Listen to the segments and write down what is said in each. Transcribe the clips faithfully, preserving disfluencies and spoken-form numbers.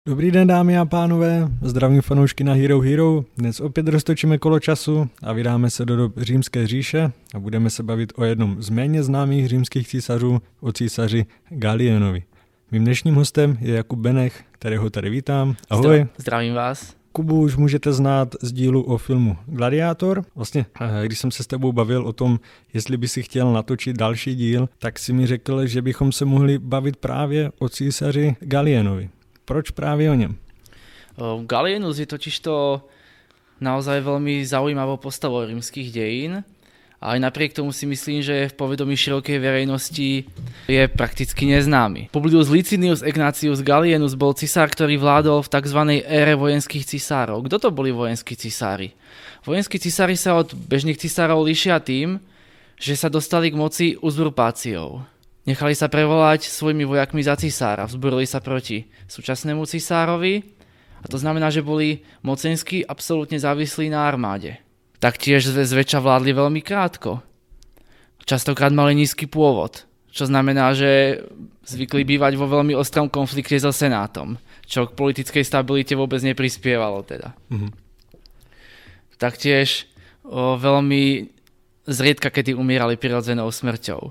Dobrý den, dámy a pánové, zdravím fanoušky na Hero Hero. Dnes opět roztočíme kolo času a vydáme se do dob Římské říše a budeme se bavit o jednom z méně známých římských císařů, o císaři Galienovi. Mým dnešním hostem je Jakub Benech, kterého tady vítám. Ahoj. Zdravím vás. Kubu už můžete znát z dílu o filmu Gladiátor. Vlastně, když jsem se s tebou bavil o tom, jestli by si chtěl natočit další díl, tak si mi řekl, že bychom se mohli bavit právě o císaři Galienovi. Proč právě o něm? Gallienus je totižto naozaj veľmi zaujímavou postavou rímskych dejín. A aj napriek tomu si myslím, že v povedomí širokej verejnosti je prakticky neznámy. Publius Licinius Egnatius Gallienus bol cisár, ktorý vládol v tzv. Ére vojenských cisárov. Kto to boli vojenskí cisári? Vojenskí cisári sa od bežných cisárov líšia tým, že sa dostali k moci uzurpáciou. Nechali sa prevolať svojimi vojakmi za cisára, vzburili sa proti súčasnému cisárovi a to znamená, že boli mocensky absolútne závislí na armáde. Taktiež zväčša vládli veľmi krátko. Častokrát mali nízky pôvod, čo znamená, že zvykli bývať vo veľmi ostrom konflikte so senátom, čo k politickej stabilite vôbec neprispievalo teda. Mhm. Taktiež o, veľmi zriedka kedy umierali prirodzenou smrťou.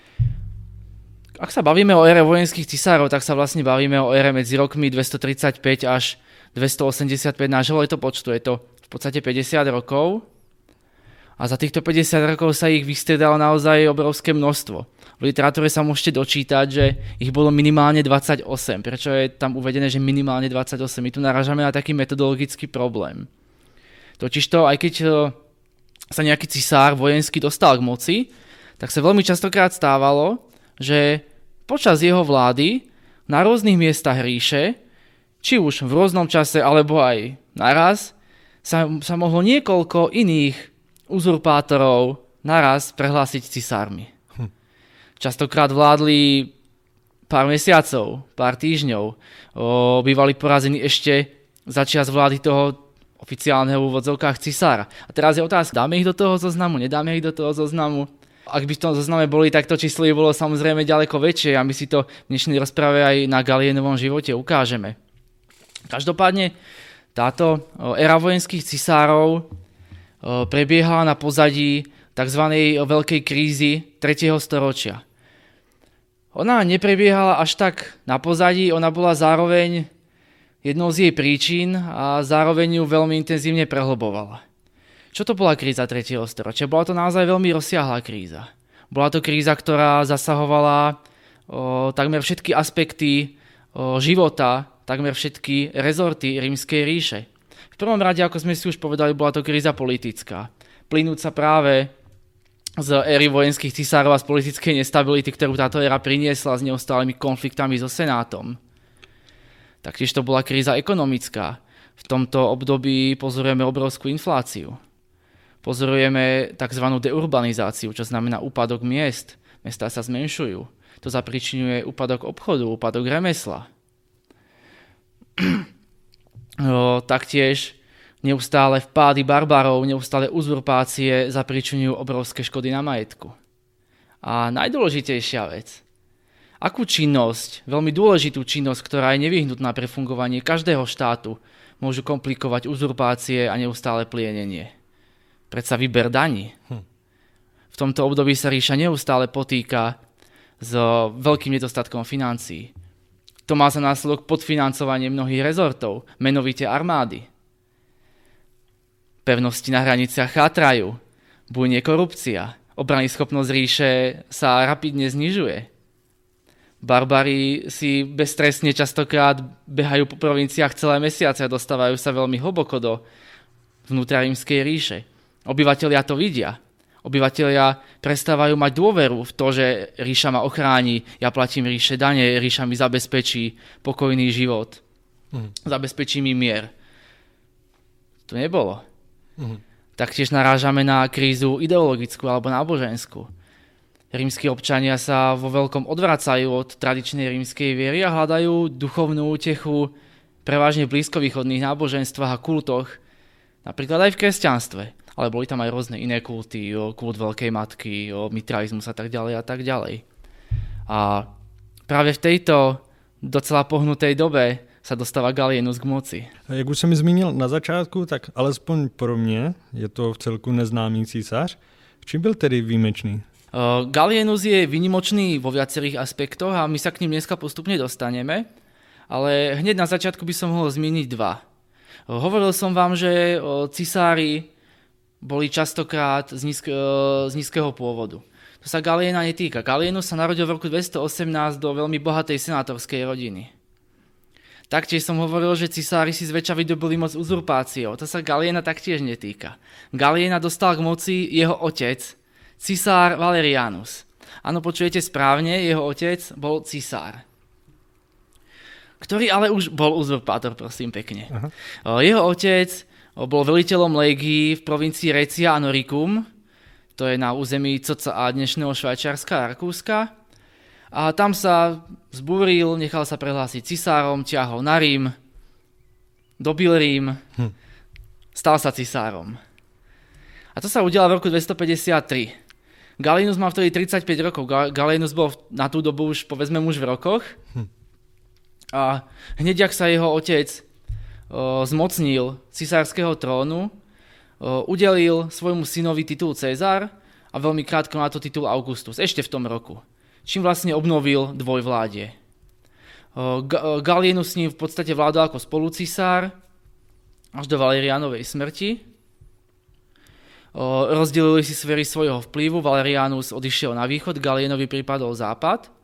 Ak sa bavíme o ére vojenských cisárov, tak sa vlastne bavíme o ére medzi rokmi dvestotridsaťpäť až dvestoosemdesiatpäť nášho letopočtu. Je to v podstate päťdesiat rokov a za týchto päťdesiat rokov sa ich vystriedalo naozaj obrovské množstvo. V literatúre sa môžete dočítať, že ich bolo minimálne dvadsaťosem. Prečo je tam uvedené, že minimálne dvadsaťosem? My tu narážame na taký metodologický problém. Totižto, aj keď sa nejaký cisár vojenský dostal k moci, tak sa veľmi častokrát stávalo, že počas jeho vlády na rôznych miestach ríše, či už v rôznom čase alebo aj naraz, sa, sa mohlo niekoľko iných uzurpátorov naraz prehlásiť cisármi. Hm. Častokrát vládli pár mesiacov, pár týždňov. O, bývali porazení ešte za čias vlády toho oficiálneho v úvodzovkách cisára. A teraz je otázka, dáme ich do toho zoznamu, nedáme ich do toho zoznamu? Ak by v tom zozname boli, tak to číslo by bolo samozrejme ďaleko väčšie a my si to v dnešnej rozprave aj na Galienovom živote ukážeme. Každopádne táto éra vojenských cisárov prebiehala na pozadí tzv. Veľkej krízy tretieho storočia. Ona neprebiehala až tak na pozadí, ona bola zároveň jednou z jej príčin a zároveň ju veľmi intenzívne prehlbovala. Čo to bola kríza tretieho storočia? Bola to naozaj veľmi rozsiahla kríza. Bola to kríza, ktorá zasahovala o, takmer všetky aspekty o, života, takmer všetky rezorty Rímskej ríše. V prvom rade, ako sme si už povedali, bola to kríza politická. Plynúca práve z éry vojenských cisárov a z politickej nestability, ktorú táto éra priniesla s neustálými konfliktami so senátom. Taktiež to bola kríza ekonomická. V tomto období pozorujeme obrovskú infláciu. Pozorujeme tzv. Deurbanizáciu, čo znamená úpadok miest. Mestá sa zmenšujú. To zapričňuje úpadok obchodu, úpadok remesla. O, taktiež neustále vpády barbarov, neustále uzurpácie zapričňujú obrovské škody na majetku. A najdôležitejšia vec. Akú činnosť, veľmi dôležitú činnosť, ktorá je nevyhnutná pre fungovanie každého štátu, môžu komplikovať uzurpácie a neustále plienenie? Predsa výber daní. Hm. V tomto období sa ríša neustále potýka s veľkým nedostatkom financií. To má za následok podfinancovanie mnohých rezortov, menovite armády. Pevnosti na hraniciach chátrajú, bujne korupcia, obranyschopnosť ríše sa rapidne znižuje. Barbari si beztrestne častokrát behajú po provinciách celé mesiace a dostávajú sa veľmi hlboko do vnútra Rímskej ríše. Obyvatelia to vidia. Obyvatelia prestávajú mať dôveru v to, že ríša ma ochráni, ja platím ríše dane, ríša mi zabezpečí pokojný život. Mm. Zabezpečí mi mier. To nebolo. Mm. Taktiež narážame na krízu ideologickú alebo náboženskú. Rímski občania sa vo veľkom odvracajú od tradičnej rímskej viery a hľadajú duchovnú útechu prevažne v blízkovýchodných náboženstvách a kultoch, napríklad aj v kresťanstve. Ale boli tam aj rôzne iné kulty, kult Veľkej Matky, mitraizmus a tak ďalej a tak ďalej. A práve v tejto docela pohnutej dobe sa dostáva Gallienus k moci. Jak už jsem mi zmínil na začátku, tak alespoň pro mě je to v celku neznámý císař. V čím byl tedy výjimečný? Uh, Gallienus je výnimočný vo viacerých aspektoch a my sa k ním dneska postupne dostaneme, ale hneď na začiatku by som mohol zmieniť dva. Uh, hovoril som vám, že uh, cisári boli častokrát z, nízk, uh, z nízkeho pôvodu. To sa Galliena netýka. Gallienus sa narodil v roku dvestoosemnásť do veľmi bohatej senátorskej rodiny. Taktiež som hovoril, že cisári si zväčša vydobili moc uzurpáciou. To sa Galliena taktiež netýka. Galliena dostal k moci jeho otec, cisár Valerianus. Áno, počujete správne, jeho otec bol cisár. Ktorý ale už bol uzurpátor, prosím pekne. Aha. Jeho otec bol veliteľom légií v provincii Recia a Noricum, to je na území cca dnešného Švajčiarska a Rakúska. A tam sa zbúril, nechal sa prehlásiť cisárom, ťahol na Rím, dobil Rím, hm. stal sa cisárom. A to sa udialo v roku dvestopäťdesiattri. Gallienus mal vtedy tridsaťpäť rokov. Gallienus bol na tú dobu už, povedzme, muž v rokoch. Hm. A hneď, ak sa jeho otec o, zmocnil cisárskeho trónu, o, udelil svojmu synovi titul Cezar a veľmi krátko na to titul Augustus, ešte v tom roku. Čím vlastne obnovil dvojvládie. O, Ga- Gallienus s ním v podstate vládol ako spolucisár až do Valerianovej smrti. O, rozdelili si sféry svojho vplyvu, Valerianus odišiel na východ, Gallienovi pripadol západ.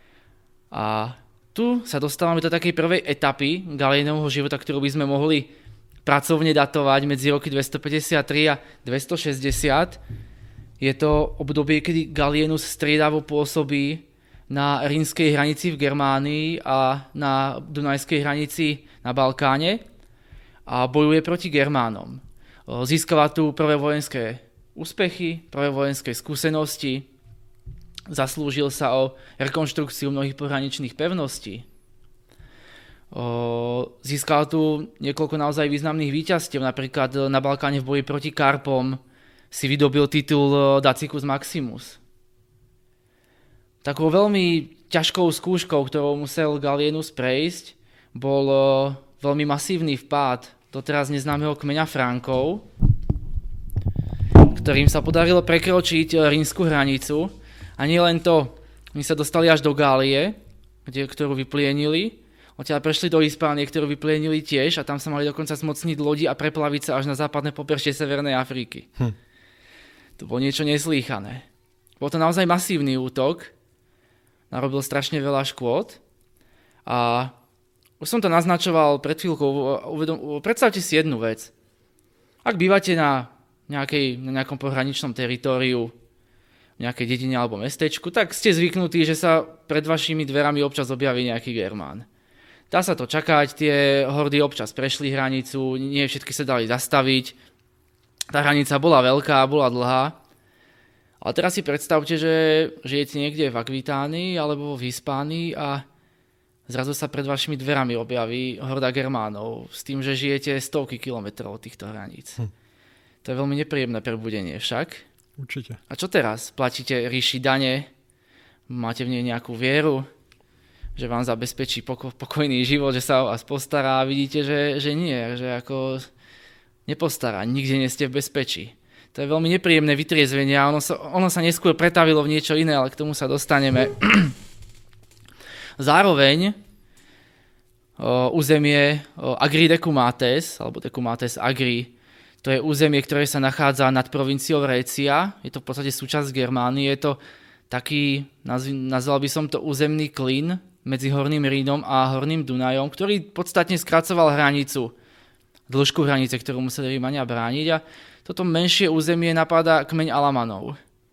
A tu sa dostávame do takej prvej etapy Gallienovho života, ktorú by sme mohli pracovne datovať medzi roky dvestopäťdesiattri a dvestošesťdesiat. Je to obdobie, kedy Gallienus striedavo pôsobí na rímskej hranici v Germánii a na dunajskej hranici na Balkáne a bojuje proti Germánom. Získava tu prvé vojenské úspechy, prvé vojenské skúsenosti, zaslúžil sa o rekonštrukciu mnohých pohraničných pevností. Získal tu niekoľko naozaj významných víťazstiev, napríklad na Balkáne v boji proti Karpom si vydobil titul Dacicus Maximus. Takou veľmi ťažkou skúškou, ktorou musel Gallienus prejsť, bol veľmi masívny vpád doteraz neznámeho kmeňa Frankov, ktorým sa podarilo prekročiť rímsku hranicu. A nie len to, oni sa dostali až do Gálie, kde, ktorú vyplienili, odtiaľ prešli do Hispánie, ktorú vyplienili tiež a tam sa mali dokonca zmocniť lodi a preplaviť sa až na západné pobrežie Severnej Afriky. Hm. To bolo niečo neslýchané. Bol to naozaj masívny útok, narobil strašne veľa škôd a už som to naznačoval pred chvíľkou. Predstavte si jednu vec. Ak bývate na, nejakej, na nejakom pohraničnom teritóriu, v nejakej dedine alebo mestečku, tak ste zvyknutí, že sa pred vašimi dverami občas objaví nejaký Germán. Dá sa to čakať, tie hordy občas prešli hranicu, nie všetky sa dali zastaviť. Tá hranica bola veľká, bola dlhá. Ale teraz si predstavte, že žijete niekde v Akvitánii alebo v Hispánii a zrazu sa pred vašimi dverami objaví horda Germánov s tým, že žijete stovky kilometrov od týchto hraníc. Hm. To je veľmi nepríjemné prebudenie však. Určite. A čo teraz? Platíte ríši dane? Máte v nej nejakú vieru? Že vám zabezpečí poko- pokojný život, že sa o vás postará a vidíte, že, že nie, že ako nepostará, nikde nie ste v bezpečí. To je veľmi nepríjemné vytriezvenie a ono sa, ono sa neskôr pretavilo v niečo iné, ale k tomu sa dostaneme. Zároveň o, územie o, Agri Decumates, alebo Decumates Agri, to je územie, ktoré sa nachádza nad provinciou Récia, je to v podstate súčasť Germánie, je to taký, nazv, nazval by som to územný klin medzi Horným Rínom a Horným Dunajom, ktorý podstatne skracoval hranicu, dĺžku hranice, ktorú museli Rímania brániť a toto menšie územie napáda kmeň Alamanov.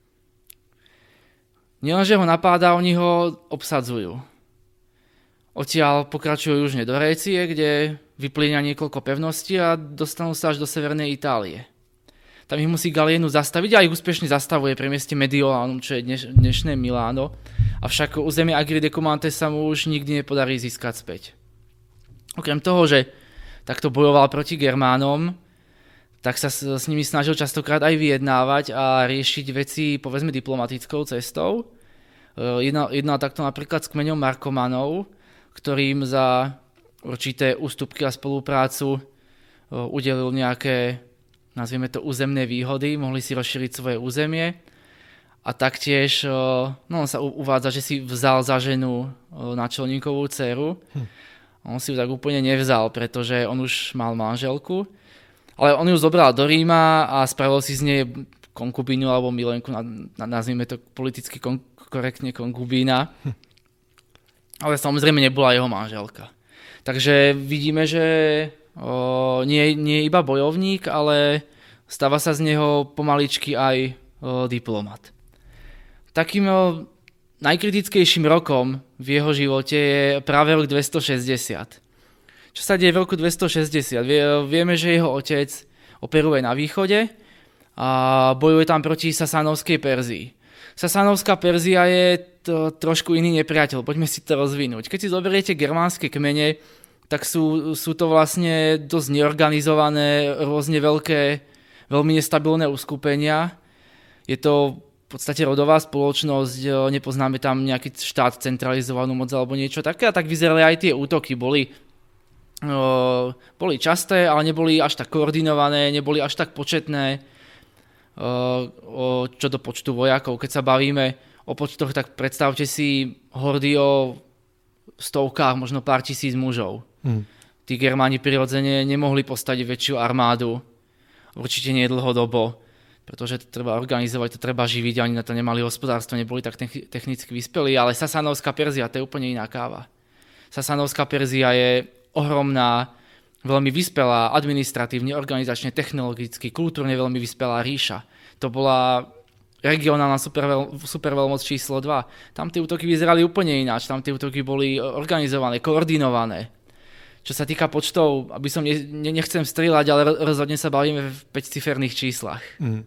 Nielenže ho napáda, oni ho obsadzujú. Odtiaľ pokračujú južne do Récie, kde vyplíňa niekoľko pevností a dostanú sa až do severnej Itálie. Tam ich musí Gallienus zastaviť a ich úspešne zastavuje pri mieste Mediolánum, čo je dneš, dnešné Miláno. Avšak územie Agri Decumates sa mu už nikdy nepodarí získať späť. Okrem toho, že takto bojoval proti Germánom, tak sa s, s nimi snažil častokrát aj vyjednávať a riešiť veci, povedzme, diplomatickou cestou. Jednal, jednal takto napríklad s kmeňom Markomanov, ktorým za určité ústupky a spoluprácu, udelil nejaké, nazvieme to, územné výhody, mohli si rozšíriť svoje územie a taktiež no, on sa uvádza, že si vzal za ženu náčelníkovú dceru. Hm. On si ju tak úplne nevzal, pretože on už mal manželku, ale on ju zobral do Ríma a spravil si z nej konkubínu alebo milenku, nazvime to politicky kon- korektne konkubína. Hm. Ale samozrejme nebola jeho manželka. Takže vidíme, že o, nie, nie je iba bojovník, ale stáva sa z neho pomaličky aj o, diplomat. Takým o, najkritickejším rokom v jeho živote je práve rok dvestošesťdesiat. Čo sa deje v roku dvestošesťdesiat? Vie, vieme, že jeho otec operuje na východe a bojuje tam proti Sasánovskej Perzii. Sasánovská Perzia je to trošku iný nepriateľ, poďme si to rozvinúť. Keď si zoberiete germánske kmene, tak sú, sú to vlastne dosť neorganizované, rôzne veľké, veľmi nestabilné uskupenia. Je to v podstate rodová spoločnosť, nepoznáme tam nejaký štát, centralizovanú moc alebo niečo také, a tak vyzerali aj tie útoky. Boli, o, boli časté, ale neboli až tak koordinované, neboli až tak početné. O, čo do počtu vojakov. Keď sa bavíme o počtoch, tak predstavte si hordy o stovkách, možno pár tisíc mužov. Hmm. Tí Germáni prirodzene nemohli postaviť väčšiu armádu. Určite nie dlhodobo, pretože to treba organizovať, to treba živiť, ani na to nemali hospodárstvo, neboli tak technicky vyspelí, ale Sasánovská Perzia, to je úplne iná káva. Sasánovská Perzia je ohromná, veľmi vyspelá, administratívne, organizačne, technologicky, kultúrne veľmi vyspelá ríša. To bola regionálna superveľ, superveľmoc číslo dva. Tam tie útoky vyzerali úplne ináč, tam tie útoky boli organizované, koordinované. Čo sa týka počtov, aby som ne, ne, nechcem strieľať, ale rozhodne sa bavíme v päťciferných číslach. Mm.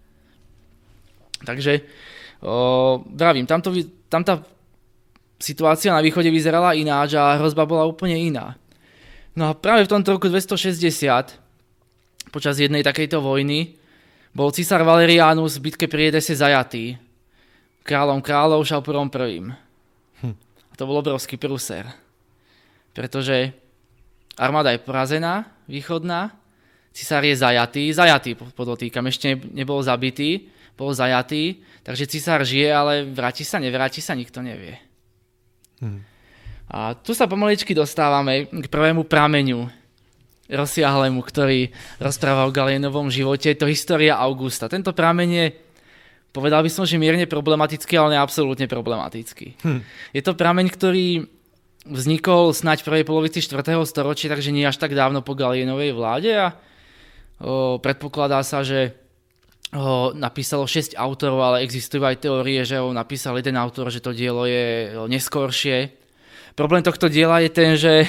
Takže, o, vravím, tamto, tam tá situácia na východe vyzerala ináč a hrozba bola úplne iná. No a práve v tomto roku dvestošesťdesiat, počas jednej takejto vojny, bol císar Valerianus v bitke pri Edese zajatý kráľom kráľov Šaupurom prvým. Hm. A to bol obrovský prúser, pretože armáda je porazená, východná, císar je zajatý, zajatý podotýkam, ešte nebol zabitý, bol zajatý, takže císar žije, ale vráti sa, nevráti sa, nikto nevie. Hm. A tu sa pomaličky dostávame k prvému prameňu rozsiahlemu, ktorý rozpráva o Gallienovom živote. To História Augusta. Tento prameň je, povedal by som, že mierne problematický, ale ne absolútne problematický. Hm. Je to prameň, ktorý vznikol snáď v prvej polovici štvrtého storočia, takže nie až tak dávno po Gallienovej vláde a o, predpokladá sa, že ho napísalo šesť autorov, ale existujú aj teórie, že ho napísal jeden autor, že to dielo je neskoršie. Problém tohto diela je ten, že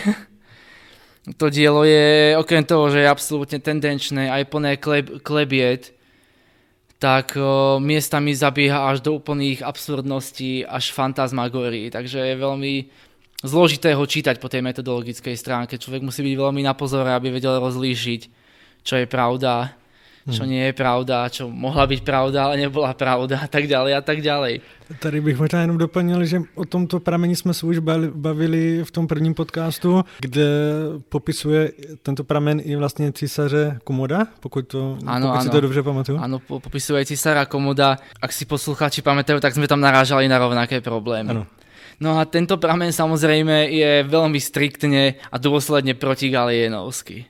to dielo je, okrem toho, že je absolútne tendenčné, aj plné kleb, klebiet, tak o, miestami zabieha až do úplných absurdností, až fantasmagórií. Takže je veľmi zložité ho čítať po tej metodologickej stránke. Človek musí byť veľmi na pozore, aby vedel rozlíšiť, čo je pravda, čo nie je pravda, čo mohla byť pravda, ale nebola pravda a tak ďalej a tak ďalej. Tady bych možná jenom doplnil, že o tomto prameni jsme se už bavili v tom prvním podcastu, kde popisuje tento pramen i vlastně císaře Komoda, pokud, to, ano, pokud ano. si to dobře pamatuju. Áno, popisuje císara Komoda. Ak si poslucháči pamätajú, tak sme tam narážali na rovnaké problémy. Ano. No a tento pramen samozrejme je veľmi striktne a dôsledne protigalienovský.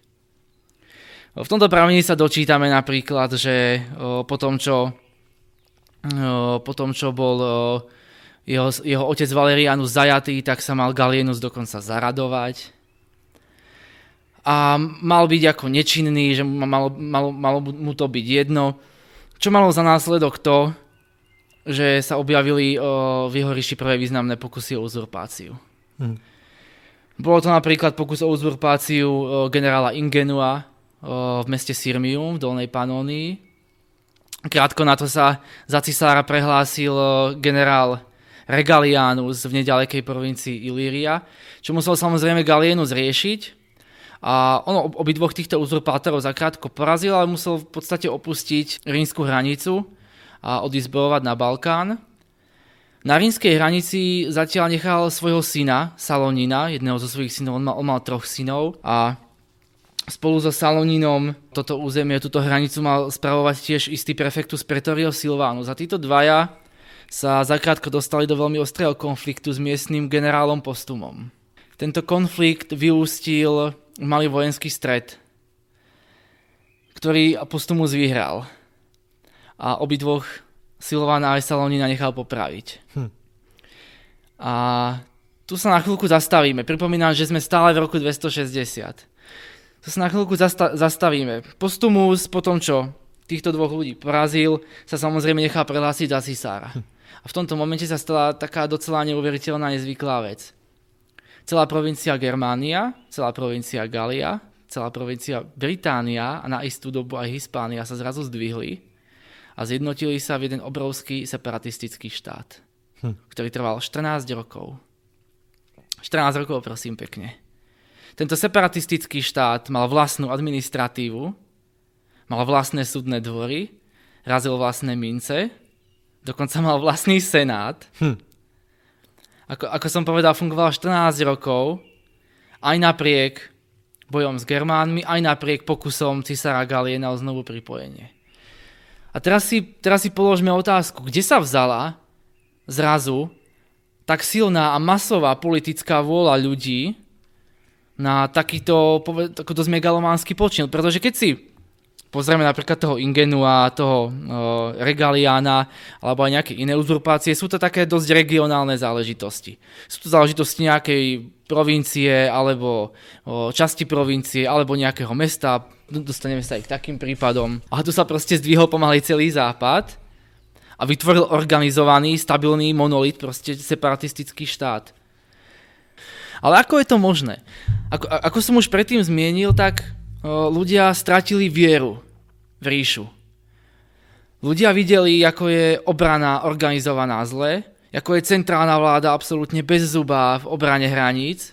V tomto pramení sa dočítame napríklad, že o, po tom, čo, o, po tom, čo bol o, jeho, jeho otec Valerianus zajatý, tak sa mal Gallienus dokonca zaradovať. A mal byť ako nečinný, že malo, malo, malo mu to byť jedno. Čo malo za následok to, že sa objavili o, v jeho ríši prvé významné pokusy o uzurpáciu. Hm. Bolo to napríklad pokus o uzurpáciu o, generála Ingenua v meste Sirmium v Dolnej Panónii. Krátko na to sa za cisára prehlásil generál Regalianus v nedalekej provincii Ilíria, čo musel samozrejme Gallienus riešiť. A on obidvoch týchto uzurpátorov zakrátko porazil, ale musel v podstate opustiť rímsku hranicu a odísť bojovať na Balkán. Na rímskej hranici zatiaľ nechal svojho syna, Salónina, jedného zo svojich synov, on mal, on mal troch synov a spolu so Salóninom toto územie, túto hranicu mal spravovať tiež istý prefektus Praetorio Silvanus. A títo dvaja sa zakrátko dostali do veľmi ostrého konfliktu s miestnym generálom Postumom. Tento konflikt vyústil v malý vojenský stret, ktorý Postumus vyhral. A obidvoch Silvana aj Salónina nechal popraviť. Hm. A tu sa na chvíľku zastavíme. Pripomínam, že sme stále v roku dvestošesťdesiat. Tu sa na chvíľku zasta- zastavíme. Postumus, po tom, čo týchto dvoch ľudí porazil, sa samozrejme nechal prehlásiť za cisára. Hm. A v tomto momente sa stala taká docela neuveriteľná nezvyklá vec. Celá provincia Germánia, celá provincia Galia, celá provincia Británia a na istú dobu aj Hispánia sa zrazu zdvihli a zjednotili sa v jeden obrovský separatistický štát, hm. ktorý trval štrnásť rokov. štrnásť rokov, prosím pekne. Tento separatistický štát mal vlastnú administratívu, mal vlastné súdne dvory, razil vlastné mince, dokonca mal vlastný senát. Hm. Ako, ako som povedal, fungoval štrnásť rokov, aj napriek bojom s Germánmi, aj napriek pokusom cisára Galie na znovu pripojenie. A teraz si, teraz si položme otázku, kde sa vzala zrazu tak silná a masová politická vôľa ľudí na takýto, takýto megalománsky počin. Pretože keď si pozrieme napríklad toho Ingenua, toho uh, Regaliana alebo aj nejaké iné uzurpácie, sú to také dosť regionálne záležitosti. Sú to záležitosti nejakej provincie alebo uh, časti provincie alebo nejakého mesta. Dostaneme sa aj k takým prípadom. A tu sa proste zdvihol pomaly celý západ a vytvoril organizovaný, stabilný monolit, proste separatistický štát. Ale ako je to možné? Ako, ako som už predtým zmienil, tak o, ľudia stratili vieru v ríšu. Ľudia videli, ako je obrana organizovaná zle, ako je centrálna vláda absolútne bezzubá v obrane hraníc.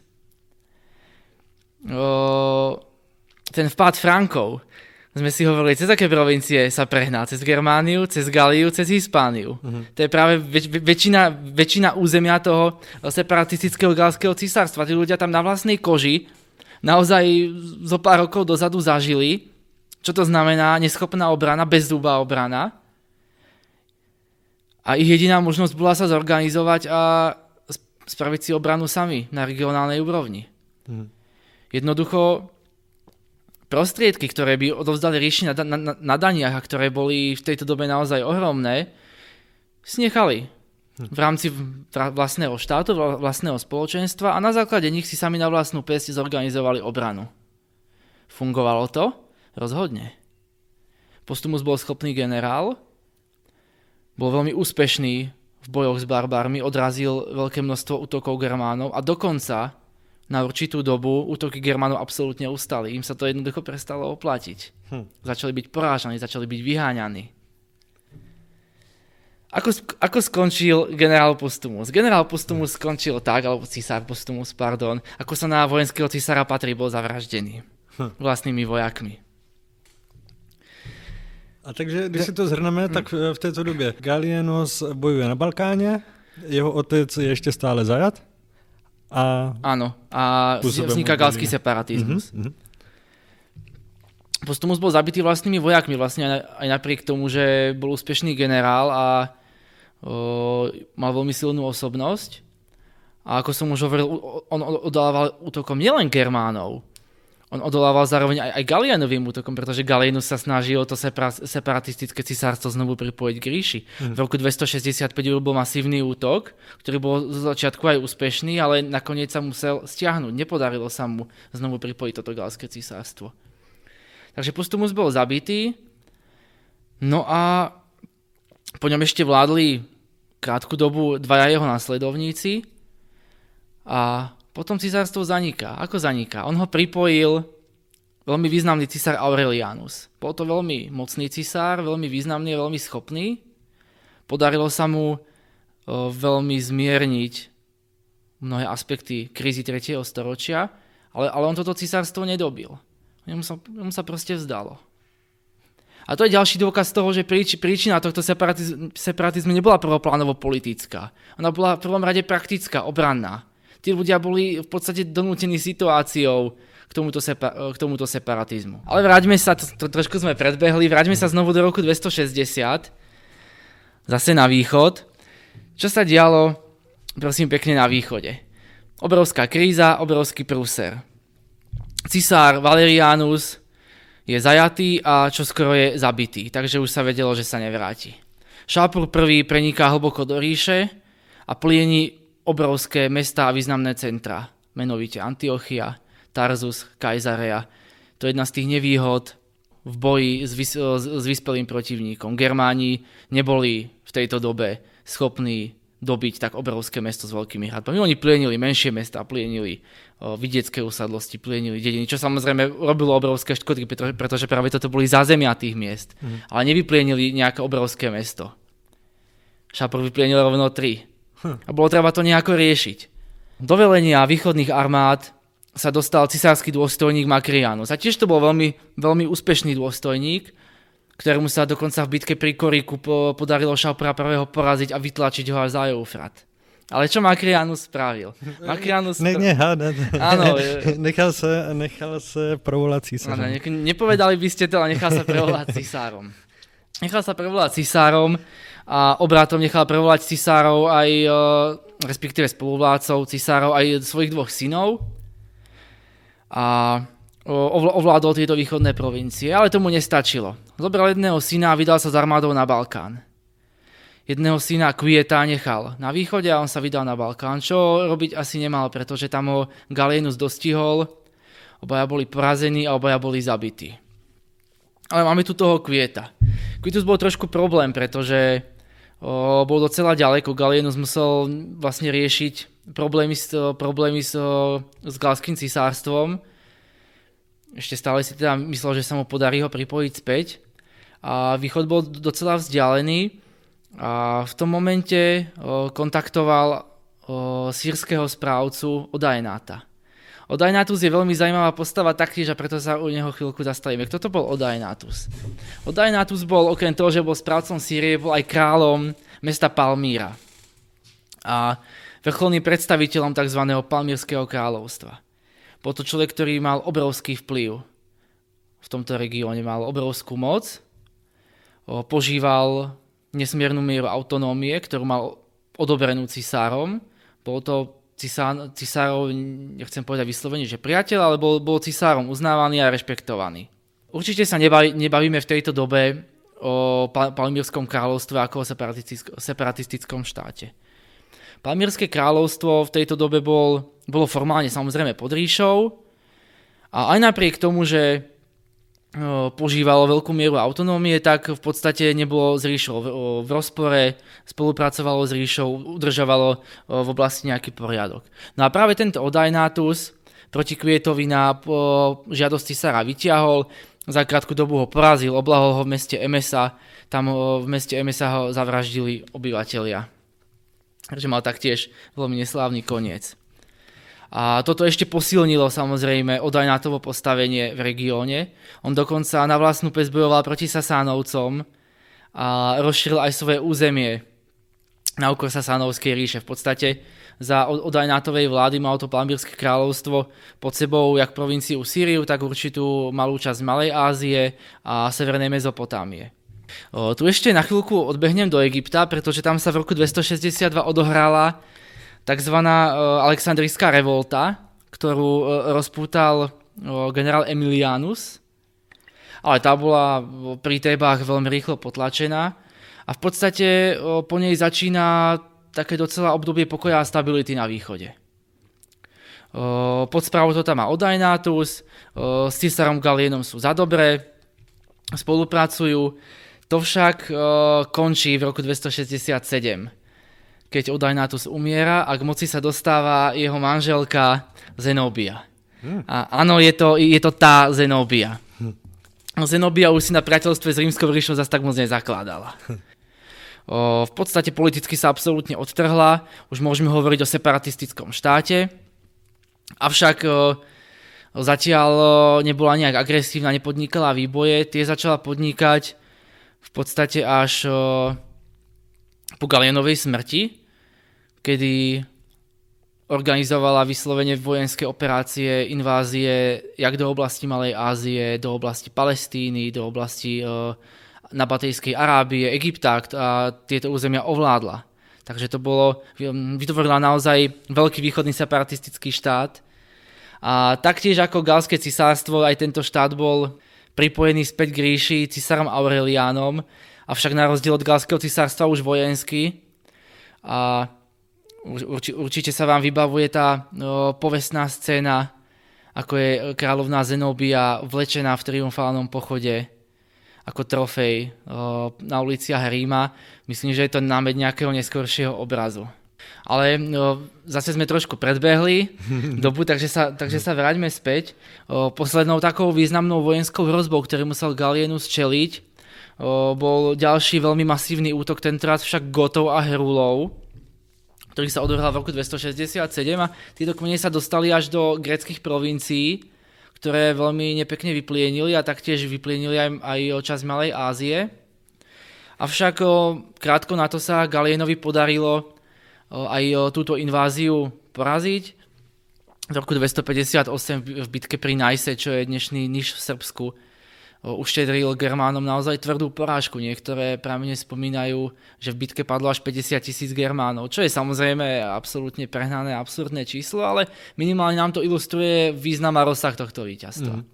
O, ten vpád Frankov, sme si hovorili, cez aké provincie sa prehná? Cez Germániu, cez Galiu, cez Hispániu. Uh-huh. To je práve väč- väčšina, väčšina územia toho separatistického galského císarstva. Tí ľudia tam na vlastnej koži naozaj zo pár rokov dozadu zažili, čo to znamená neschopná obrana, bezzubá obrana. A ich jediná možnosť bola sa zorganizovať a spraviť si obranu sami na regionálnej úrovni. Uh-huh. Jednoducho prostriedky, ktoré by odovzdali ríši na, na, na daniach a ktoré boli v tejto dobe naozaj ohromné, si nechali v rámci vlastného štátu, vlastného spoločenstva a na základe nich si sami na vlastnú päsť zorganizovali obranu. Fungovalo to? Rozhodne. Postumus bol schopný generál, bol veľmi úspešný v bojoch s barbármi, odrazil veľké množstvo útokov Germánov a dokonca na určitú dobu útoky Germánov absolútne ustali. Im sa to jednoducho prestalo oplatiť. Hm. Začali byť porážaní, začali byť vyháňaní. Ako, ako skončil generál Postumus? Generál Postumus skončil tak, alebo císar Postumus, pardon, ako sa na vojenského císara patrí, bol zavraždený hm. vlastnými vojakmi. A takže, když si to zhrneme, tak v této době Gallienus bojuje na Balkáně, jeho otec je ještě stále zajat. A áno, a vzniká galský separatizmus. Mm-hmm. Postumus bol zabitý vlastnými vojakmi, vlastne aj napriek tomu, že bol úspešný generál a o, mal veľmi silnú osobnosť. A ako som už hovoril, on odolával útokom nielen Germánov, on odolával zároveň aj, aj Gallianovým útokom, pretože Gallienus sa snažil to separa- separatistické cisárstvo znovu pripojiť k ríši. Mm. V roku dvestošesťdesiatpäť bol masívny útok, ktorý bol zo začiatku aj úspešný, ale nakoniec sa musel stiahnuť. Nepodarilo sa mu znovu pripojiť toto galské cisárstvo. Takže Postumus bol zabitý, no a po ňom ešte vládli krátku dobu dvaja jeho následovníci a potom cisárstvo zaniká. Ako zaniká? On ho pripojil veľmi významný cisár Aurelianus. Bol to veľmi mocný cisár, veľmi významný, veľmi schopný. Podarilo sa mu o, veľmi zmierniť mnohé aspekty krízy tretieho storočia, ale, ale on toto cisárstvo nedobil. Jemu sa, jemu sa proste vzdalo. A to je ďalší dôkaz toho, že príč, príčina tohto separatiz- separatizmu nebola prvoplánovo politická. Ona bola v prvom rade praktická, obranná. Tí ľudia boli v podstate donútení situáciou k tomuto, sepa- k tomuto separatizmu. Ale vráťme sa, to, to trošku sme predbehli, vráťme sa znovu do roku dvestošesťdesiat, zase na východ. Čo sa dialo, prosím pekne, na východe? Obrovská kríza, obrovský prúser. Cisár Valerianus je zajatý a čoskoro je zabitý, takže už sa vedelo, že sa nevráti. Šápur I preniká hlboko do ríše a plieni obrovské mestá a významné centra, menovite Antiochia, Tarzus, Kaisarea. To je jedna z tých nevýhod v boji s, vys- s vyspelým protivníkom. Germáni neboli v tejto dobe schopní dobiť tak obrovské mesto s veľkými hradbami. Oni plienili menšie mestá, plienili o, vidiecké usadlosti, plienili dediny, čo samozrejme robilo obrovské škody, pretože práve toto boli zázemia tých miest. Mm. Ale nevyplienili nejaké obrovské mesto. Šápur vyplienil rovno tri. Hm. A bolo treba to nejako riešiť. Do velenia východných armád sa dostal cisársky dôstojník Makrianus. A tiež to bol veľmi, veľmi úspešný dôstojník, ktorému sa dokonca v bitke pri Koriku podarilo Šápura I. poraziť a vytlačiť ho až za Eufrat. Ale čo Makrianus spravil? Makrianus ne, nehádať. Áno. Nechal sa, nechal sa prevolať císarom. Áno, ne, nepovedali by ste to, ale nechal sa prevolať cisárom. Nechal sa prevolať cisárom a obrátom nechal prevolať cisárov aj, respektíve spoluvládcov cisárov aj svojich dvoch synov. A ovládol tieto východné provincie, ale tomu nestačilo. Zobral jedného syna a vydal sa s armádou na Balkán. Jedného syna Quieta nechal na východe a on sa vydal na Balkán, čo robiť asi nemal, pretože tam ho Gallienus dostihol, obaja boli porazení a obaja boli zabití. Ale máme tu toho Quieta. Quietus bol trošku problém, pretože o, bol docela ďaleko. Gallienus musel vlastne riešiť problémy s, problémy s, s galským cisárstvom. Ešte stále si teda myslel, že sa mu podarí ho pripojiť späť. A východ bol docela vzdialený a v tom momente o, kontaktoval o, sírskeho správcu Odaenáta. Odaenátus je veľmi zaujímavá postava taktiež a preto sa u neho chvíľku zastavíme. Kto to bol Odaenátus? Odaenátus bol okrem toho, že bol správcom Sýrie, bol aj kráľom mesta Palmíra a vrcholným predstaviteľom tzv. Palmírskeho kráľovstva. Bol to človek, ktorý mal obrovský vplyv v tomto regióne, mal obrovskú moc, požíval nesmiernu mieru autonómie, ktorú mal odobrenú cisárom. Bol to cisár, cisárov, nechcem povedať vyslovene, že priateľ, ale bol, bol cisárom uznávaný a rešpektovaný. Určite sa nebaví, nebavíme v tejto dobe o Palmírskom kráľovstve ako o separatistickom štáte. Palmírske kráľovstvo v tejto dobe bol, bolo formálne samozrejme pod ríšou a aj napriek tomu, že požívalo veľkú mieru autonómie, tak v podstate nebolo s ríšou v rozpore, spolupracovalo s ríšou, udržovalo v oblasti nejaký poriadok. No a práve tento Odaenátus proti Quietovi na žiadosti cisára vyťahol, za krátku dobu ho porazil, oblahol ho v meste Emesa, tam v meste Emesa ho zavraždili obyvatelia. Takže mal taktiež veľmi neslávny koniec. A toto ešte posilnilo samozrejme Odaenátovo postavenie v regióne. On dokonca na vlastnú päsť bojoval proti Sasánovcom a rozšíril aj svoje územie na úkor Sasánovskej ríše. V podstate za Odaenátovej vlády malo to Palmírske kráľovstvo pod sebou jak provinciu Sýriu, tak určitú malú časť Malej Ázie a severnej Mezopotámie. O, tu ešte na chvíľku odbehnem do Egypta, pretože tam sa v roku dvestošesťdesiatdva odohrala takzvaná Alexandrijská revolta, ktorú rozpútal generál Emilianus, ale tá bola pri Tébách veľmi rýchlo potlačená a v podstate po nej začína také docela obdobie pokoja a stability na východe. Pod správou to tam má Odaenátus, s cisárom Galienom sú za dobré, spolupracujú. To však končí v roku dvestošesťdesiatsedem. Keď Odaenátus umiera a k moci sa dostáva jeho manželka Zenóbia. Hmm. A áno, je to, je to tá Zenóbia. Hmm. Zenóbia už si na priateľstve s rímskou ríšou zase tak moc nezakladala. Hmm. O, v podstate politicky sa absolútne odtrhla, už môžeme hovoriť o separatistickom štáte, avšak o, o, Zatiaľ nebola nejak agresívna, nepodnikala výboje, tie začala podnikať v podstate až po Galienovej smrti, kedy organizovala vyslovene vojenské operácie, invázie jak do oblasti Malej Ázie, do oblasti Palestíny, do oblasti Nabatejskej Arábie, Egypta a tieto územia ovládla. Takže to bolo, vytvorila naozaj veľký východný separatistický štát. A taktiež ako Galské cisárstvo, aj tento štát bol pripojený späť k ríši cisárom Aureliánom, avšak na rozdiel od Galského cisárstva už vojenský. A urči, určite sa vám vybavuje tá no, povestná scéna, ako je kráľovná Zenóbia vlečená v triumfálnom pochode ako trofej o, na uliciach Ríma. Myslím, že je to námed nejakého neskoršieho obrazu. Ale no, zase sme trošku predbehli dobu, takže sa, takže sa vráťme späť. O, poslednou takou významnou vojenskou hrozbou, ktorý musel Gallienus čeliť, o, bol ďalší veľmi masívny útok, tentoraz však Gotov a Herulov, ktorý sa odohral v roku dvestošesťdesiatsedem a títo kmene sa dostali až do gréckych provincií, ktoré veľmi nepekne vyplienili a taktiež vyplienili aj, aj časť Malej Ázie. Avšak o, krátko na to sa Galienovi podarilo o, aj o, túto inváziu poraziť. V roku dvestopäťdesiatosem v bitke pri Najse, čo je dnešný Niš v Srbsku, uštedril Germánom naozaj tvrdú porážku. Niektoré pramene spomínajú, že v bitke padlo až päťdesiat tisíc Germánov, čo je samozrejme absolútne prehnané, absurdné číslo, ale minimálne nám to ilustruje význam a rozsah tohto víťazstva. Mm.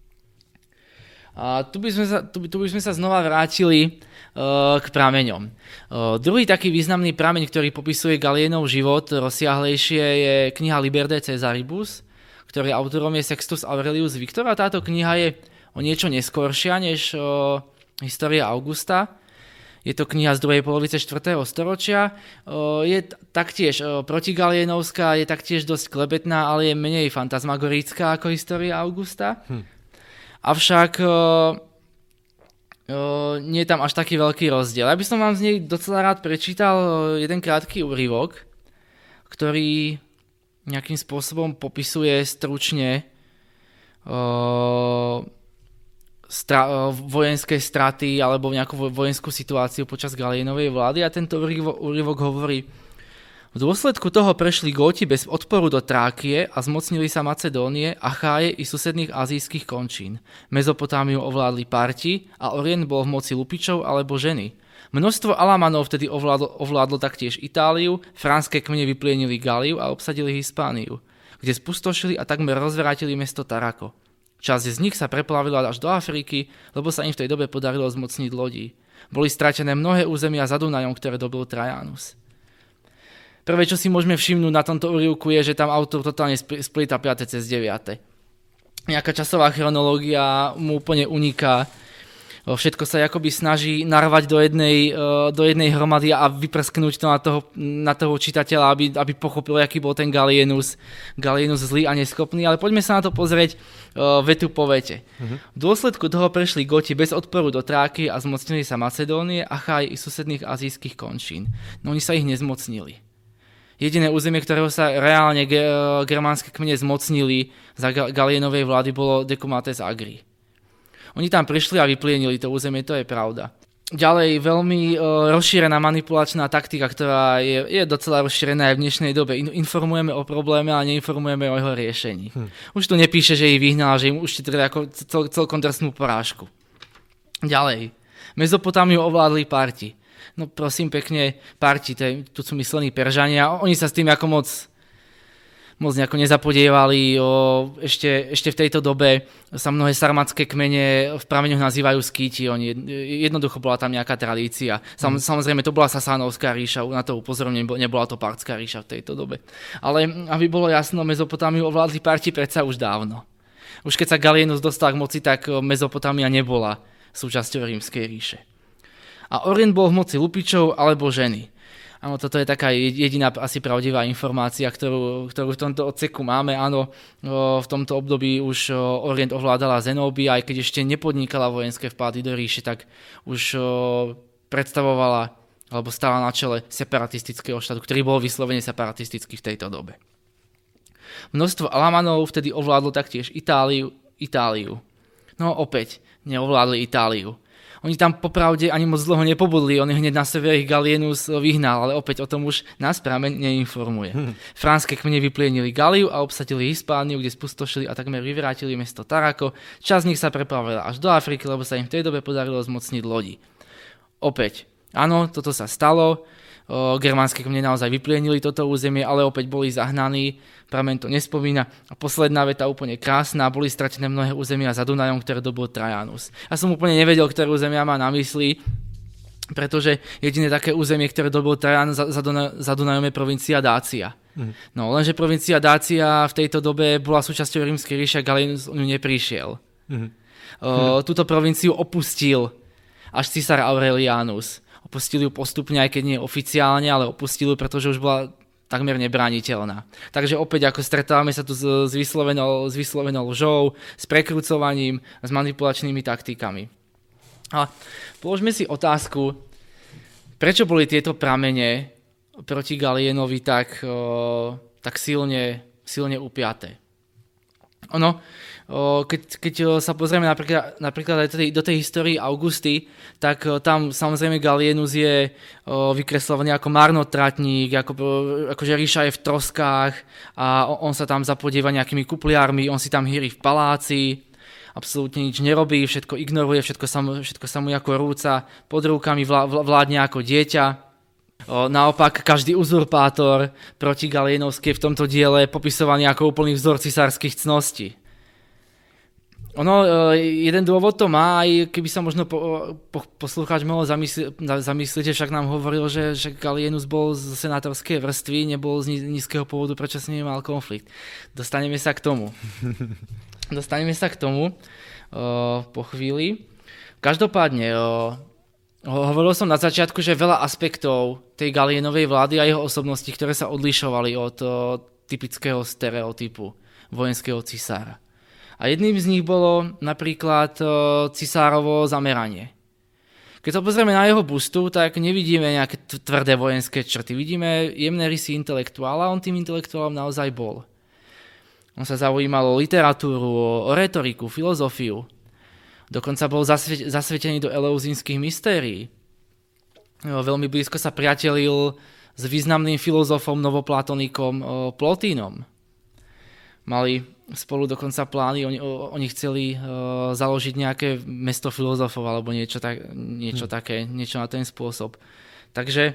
A tu by sme sa, tu by, tu by sme sa znova vrátili uh, k prameňom. Uh, druhý taký významný prameň, ktorý popisuje Galienov život rozsiahlejšie, je kniha Liber de Caesaribus, ktorý autorom je Sextus Aurelius Victor a táto kniha je o niečo neskoršia než o, História Augusta. Je to kniha z druhej polovice štvrtého storočia. O, je t- taktiež o, protigalienovská, je taktiež dosť klebetná, ale je menej fantasmagorická ako História Augusta. Hm. Avšak o, o, nie je tam až taký veľký rozdiel. Ja by som vám z nej docela rád prečítal jeden krátky úryvok, ktorý nejakým spôsobom popisuje stručne o, Stra- vojenské straty alebo nejakú vojenskú situáciu počas Galienovej vlády a tento úryvok hovorí: v dôsledku toho prešli Góti bez odporu do Trákie a zmocnili sa Macedónie, Acháje i susedných azijských končín. Mezopotámiu ovládli Parti a Orient bol v moci Lupičov alebo ženy. Množstvo Alamanov vtedy ovládlo, ovládlo taktiež Itáliu, franské kmene vyplienili Galiu a obsadili Hispániu, kde spustošili a takmer rozvrátili mesto Tarako. Časť z nich sa preplavila až do Afriky, lebo sa im v tej dobe podarilo zmocniť lodí. Boli stratené mnohé územia za Dunajom, ktoré dobil Trajanus. Prvé, čo si môžeme všimnúť na tomto úryvku, je, že tam autor totálne splíta piate cez deviate. Nejaká časová chronológia mu úplne uniká. Všetko sa akoby snaží narvať do jednej, do jednej hromady a vyprsknúť to na toho, na toho čitateľa, aby, aby pochopil, aký bol ten Gallienus, Gallienus zlý a neschopný. Ale poďme sa na to pozrieť uh, vetu po vete. Uh-huh. V dôsledku toho prešli Goti bez odporu do Tráky a zmocnili sa Macedónie, Achaj i susedných azijských končín. No oni sa ich nezmocnili. Jediné územie, ktorého sa reálne ge- germánske kmene zmocnili za Ga- Galienovej vlády, bolo Decumates Agri. Oni tam prišli a vyplienili to územie, to je pravda. Ďalej, veľmi e, rozšírená manipulačná taktika, ktorá je, je docela rozšírená aj v dnešnej dobe. Informujeme o probléme, ale neinformujeme o jeho riešení. Hm. Už tu nepíše, že ich vyhnal, že im uštítili ako cel, celkom drsnú porážku. Ďalej, Mezopotámiu ovládli Parti. No prosím pekne, Parti, tu sú myslení Peržania, oni sa s tým ako moc... moc nejako nezapodievali. O, ešte, ešte v tejto dobe sa mnohé sarmatské kmene v prameňoch nazývajú Skíti. Oni, jednoducho bola tam nejaká tradícia. Sam, mm. Samozrejme, to bola Sasánovská ríša, na to upozorňujem, nebola to Partská ríša v tejto dobe. Ale aby bolo jasno, Mezopotámiu ovládli Parti predsa už dávno. Už keď sa Gallienus dostal k moci, tak Mezopotámia nebola súčasťou Rímskej ríše. A Orient bol v moci Lupičov alebo ženy. Áno, toto je taká jediná asi pravdivá informácia, ktorú, ktorú v tomto odseku máme. Áno, v tomto období už Orient ovládala Zenóbia, aj keď ešte nepodnikala vojenské vpády do ríše, tak už predstavovala alebo stála na čele separatistického štátu, ktorý bol vyslovene separatistický v tejto dobe. Množstvo Alamanov vtedy ovládlo taktiež Itáliu. Itáliu. No opäť, neovládli Itáliu. Oni tam popravde ani moc dlho nepobudli, on hneď na sever ich Gallienus vyhnal, ale opäť o tom už nás prameň neinformuje. Hmm. Franské kmene vyplienili Galiu a obsadili Hispániu, kde spustošili a takmer vyvrátili mesto Tarako. Časť z nich sa prepravila až do Afriky, lebo sa im v tej dobe podarilo zmocniť lodi. Opäť, áno, toto sa stalo, o, germánske kmene naozaj vyplienili toto územie, ale opäť boli zahnaní, prameň to nespomína. A posledná veta úplne krásna, boli stratené mnohé územia za Dunajom, ktoré dobil Trajanus. Ja som úplne nevedel, ktoré územia má na mysli, pretože jediné také územie, ktoré dobil Trajan za, za, Duna, za Dunajom je provincia Dácia. Mm. No, lenže provincia Dácia v tejto dobe bola súčasťou Rímskej ríše a Gallienus o ňu neprišiel. Mm. O, túto provinciu opustil až císar Aurelianus. Opustil ju postupne, aj keď nie oficiálne, ale opustil ju, pretože už bola takmer nebrániteľná. Takže opäť ako stretávame sa tu s, s, vyslovenou, s vyslovenou lžou, s prekrucovaním, s manipulačnými taktikami. A položme si otázku, prečo boli tieto pramene proti Gallienovi tak, o, tak silne, silne upiaté. Ono, keď, keď sa pozrieme napríklad, napríklad aj do tej histórii Augusty, tak tam samozrejme Gallienus je vykreslovaný ako marnotratník, ako, akože ríša je v troskách a on sa tam zapodieva nejakými kupliármi, on si tam hýri v paláci, absolútne nič nerobí, všetko ignoruje, všetko sa mu, všetko sa mu ako rúca pod rukami, vládne ako dieťa. Naopak, každý uzurpátor proti Galienovskej v tomto diele je popisovaný ako úplný vzor cisárskych cností. Ono, jeden dôvod to má, aj keby sa možno po, po, poslucháč mohol zamysli, zamyslieť, že však nám hovoril, že, že Gallienus bol z senátorskej vrstvy, nebol z nízkeho pôvodu, prečo s ním mal konflikt. Dostaneme sa k tomu. Dostaneme sa k tomu uh, po chvíli. Každopádne, uh, hovoril som na začiatku, že veľa aspektov tej Gallienovej vlády a jeho osobnosti, ktoré sa odlišovali od uh, typického stereotypu vojenského cisára. A jedným z nich bolo napríklad cisárovo zameranie. Keď sa pozrieme na jeho bustu, tak nevidíme nejaké tvrdé vojenské črty. Vidíme jemné rysy intelektuála, on tým intelektuálom naozaj bol. On sa zaujímal o literatúru, o retoriku, filozofiu. Dokonca bol zasve- zasvetený do eleuzínskych mystérií. Veľmi blízko sa priatelil s významným filozofom, novoplatonikom Plotínom. Mali spolu dokonca plány, oni, oni chceli uh, založiť nejaké mesto filozofov alebo niečo, tak, niečo hmm. také, niečo na ten spôsob. Takže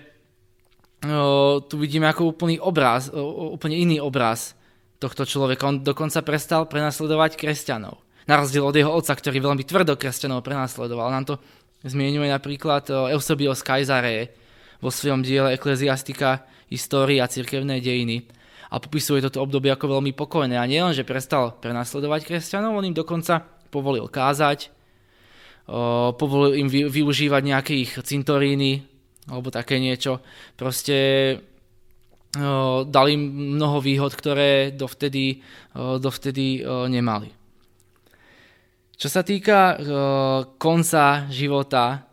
uh, tu vidíme ako úplný obraz, uh, úplne iný obraz tohto človeka. On dokonca prestal prenasledovať kresťanov. Na rozdiel od jeho otca, ktorý veľmi tvrdo kresťanov prenasledoval. Nám to zmienuje napríklad uh, Eusebios Caesarea vo svojom diele Ecclesiastica, história a cirkevné dejiny. A popisuje toto obdobie ako veľmi pokojné. A nielen, že prestal prenasledovať kresťanov, on im dokonca povolil kázať, o, povolil im vy, využívať nejaké ich cintoríny, alebo také niečo. Proste o, dal im mnoho výhod, ktoré dovtedy, o, dovtedy o, nemali. Čo sa týka o, konca života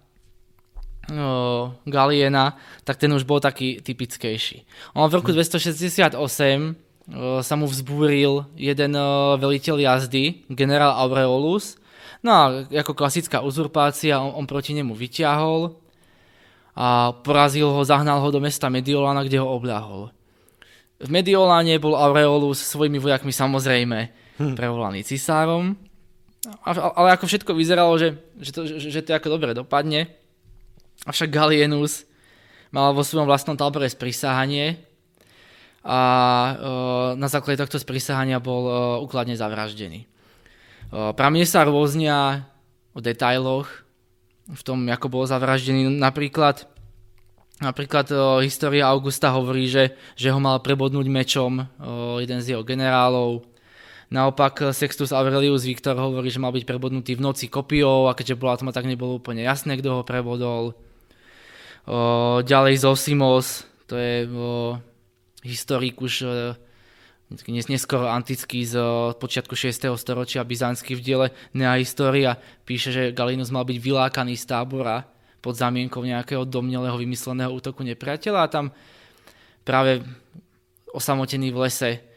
Galliena, tak ten už bol taký typickejší. On v roku dvestošesťdesiatosem sa mu vzbúril jeden veliteľ jazdy, generál Aureolus. No a ako klasická uzurpácia, on, on proti nemu vyťahol a porazil ho, zahnal ho do mesta Mediolána, kde ho obľahol. V Medioláne bol Aureolus svojimi vojakmi samozrejme hm. prevolaný cisárom, ale ako všetko vyzeralo, že, že, to, že, že to ako dobre dopadne. Avšak Gallienus mal vo svojom vlastnom tábore sprisahanie a e, na základe tohto sprisahania bol e, úkladne zavraždený. E, Pramene sa rôznia o detailoch v tom, ako bol zavraždený. Napríklad, napríklad e, história Augusta hovorí, že, že ho mal prebodnúť mečom e, jeden z jeho generálov. Naopak Sextus Aurelius Victor hovorí, že mal byť prebodnutý v noci kopiou a keďže bola tma, tak nebolo úplne jasné, kto ho prebodol. O, ďalej Zosimos, to je o, historik už o, neskoro antický z o, počiatku šiesteho storočia, byzantský v diele Nea Historia, píše, že Gallienus mal byť vylákaný z tábora pod zamienkou nejakého domnelého vymysleného útoku nepriateľa a tam práve osamotený v lese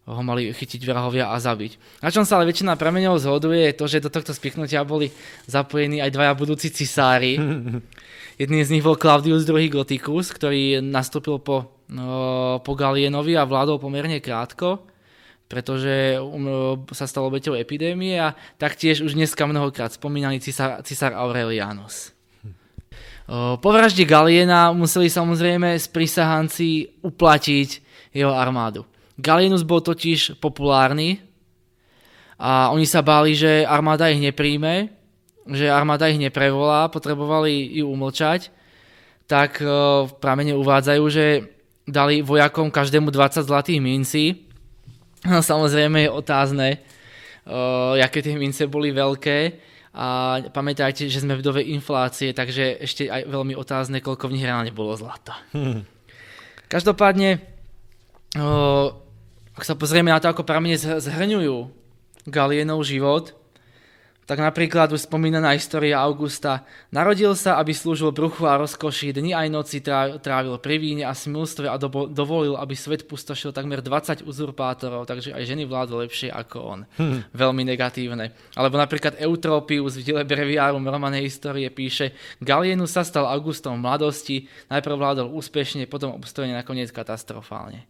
ho mali chytiť vrahovia a zabiť. Na čom sa ale väčšina prameňov zhoduje je to, že do tohto spichnutia boli zapojení aj dvaja budúci cisári. Jedným z nich bol Claudius druhý. Gothicus, ktorý nastúpil po, no, po Galienovi a vládol pomerne krátko, pretože um, sa stal obeťou epidémie a taktiež už dneska mnohokrát spomínaný cisár, cisár Aurelianus. O, po vražde Galiena museli samozrejme sprisahanci uplatiť jeho armádu. Gallienus bol totiž populárny a oni sa báli, že armáda ich nepríjme, že armáda ich neprevolá, potrebovali ju umlčať, tak v pramene uvádzajú, že dali vojakom každému dvadsať zlatých mincí. No, samozrejme je otázne, uh, aké tie mince boli veľké a pamätajte, že sme v dobe inflácie, takže ešte aj veľmi otázne, koľko v nich reálne bolo zlata. Hmm. Každopádne, uh, ak sa pozrieme na to, ako pramene zhrňujú Galienov život, tak napríklad už spomínaná história Augusta. Narodil sa, aby slúžil bruchu a rozkoši, dni aj noci trávil pri víne a smilstve a dovolil, aby svet pustošil takmer dvadsať uzurpátorov, takže aj ženy vládli lepšie ako on. Hmm. Veľmi negatívne. Alebo napríklad Eutropius v diele Breviarum Romanej histórie píše: Gallienus sa stal Augustom v mladosti, najprv vládol úspešne, potom obstojene, nakoniec katastrofálne.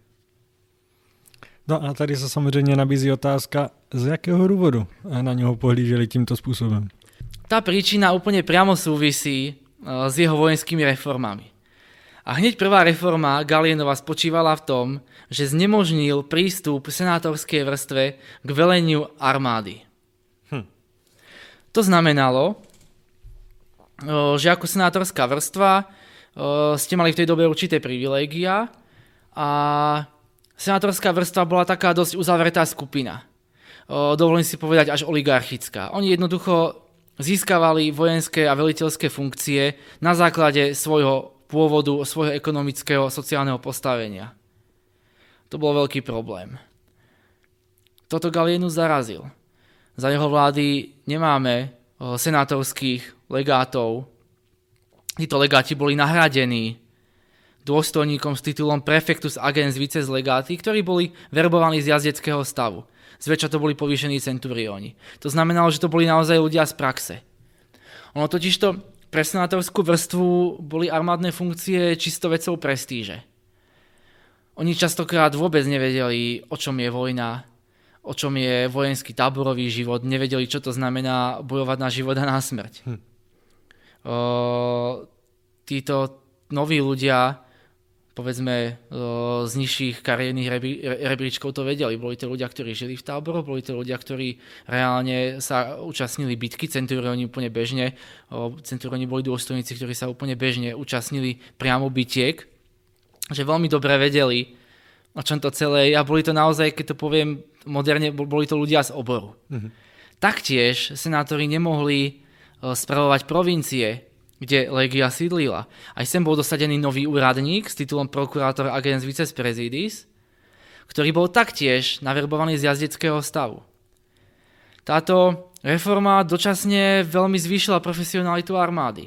No a tady se samozřejmě nabízí otázka, z jakého důvodu na něho pohlíželi tímto způsobem. Tá príčina úplne priamo súvisí s jeho vojenskými reformami. A hneď prvá reforma Gallienova spočívala v tom, že znemožnil prístup senátorskej vrstve k veleniu armády. Hm. To znamenalo, že ako senátorská vrstva ste mali v tej dobe určité privilégia a senátorská vrstva bola taká dosť uzavretá skupina. O, dovolím si povedať až oligarchická. Oni jednoducho získavali vojenské a veliteľské funkcie na základe svojho pôvodu, svojho ekonomického, sociálneho postavenia. To bol veľký problém. Toto Gallienus zarazil. Za jeho vlády nemáme o, senátorských legátov. Títo legáti boli nahradení dôstojníkom s titulom prefectus agens vices legati, ktorí boli verbovaní z jazdeckého stavu. Zväčša to boli povýšení centurióni. To znamenalo, že to boli naozaj ľudia z praxe. Ono totižto pre senátorskú vrstvu boli armádne funkcie čisto vecou prestíže. Oni častokrát vôbec nevedeli, o čom je vojna, o čom je vojenský táborový život, nevedeli, čo to znamená bojovať na život a na smrť. Hm. O, títo noví ľudia, povedzme z nižších kariérnych rebríčkov to vedeli. Boli to ľudia, ktorí žili v táboroch, boli to ľudia, ktorí reálne sa účastnili bitky, centurióni úplne bežne. Centurióni boli dôstojníci, ktorí sa úplne bežne účastnili priamo bitiek, že veľmi dobre vedeli, o čom to celé je. A boli to naozaj, keď to poviem moderne, boli to ľudia z oboru. Mhm. Taktiež senátori nemohli spravovať provincie, kde legia sídlila. Aj sem bol dosadený nový úradník s titulom prokurátor agens vices presidis, ktorý bol taktiež naverbovaný z jazdeckého stavu. Táto reforma dočasne veľmi zvýšila profesionalitu armády.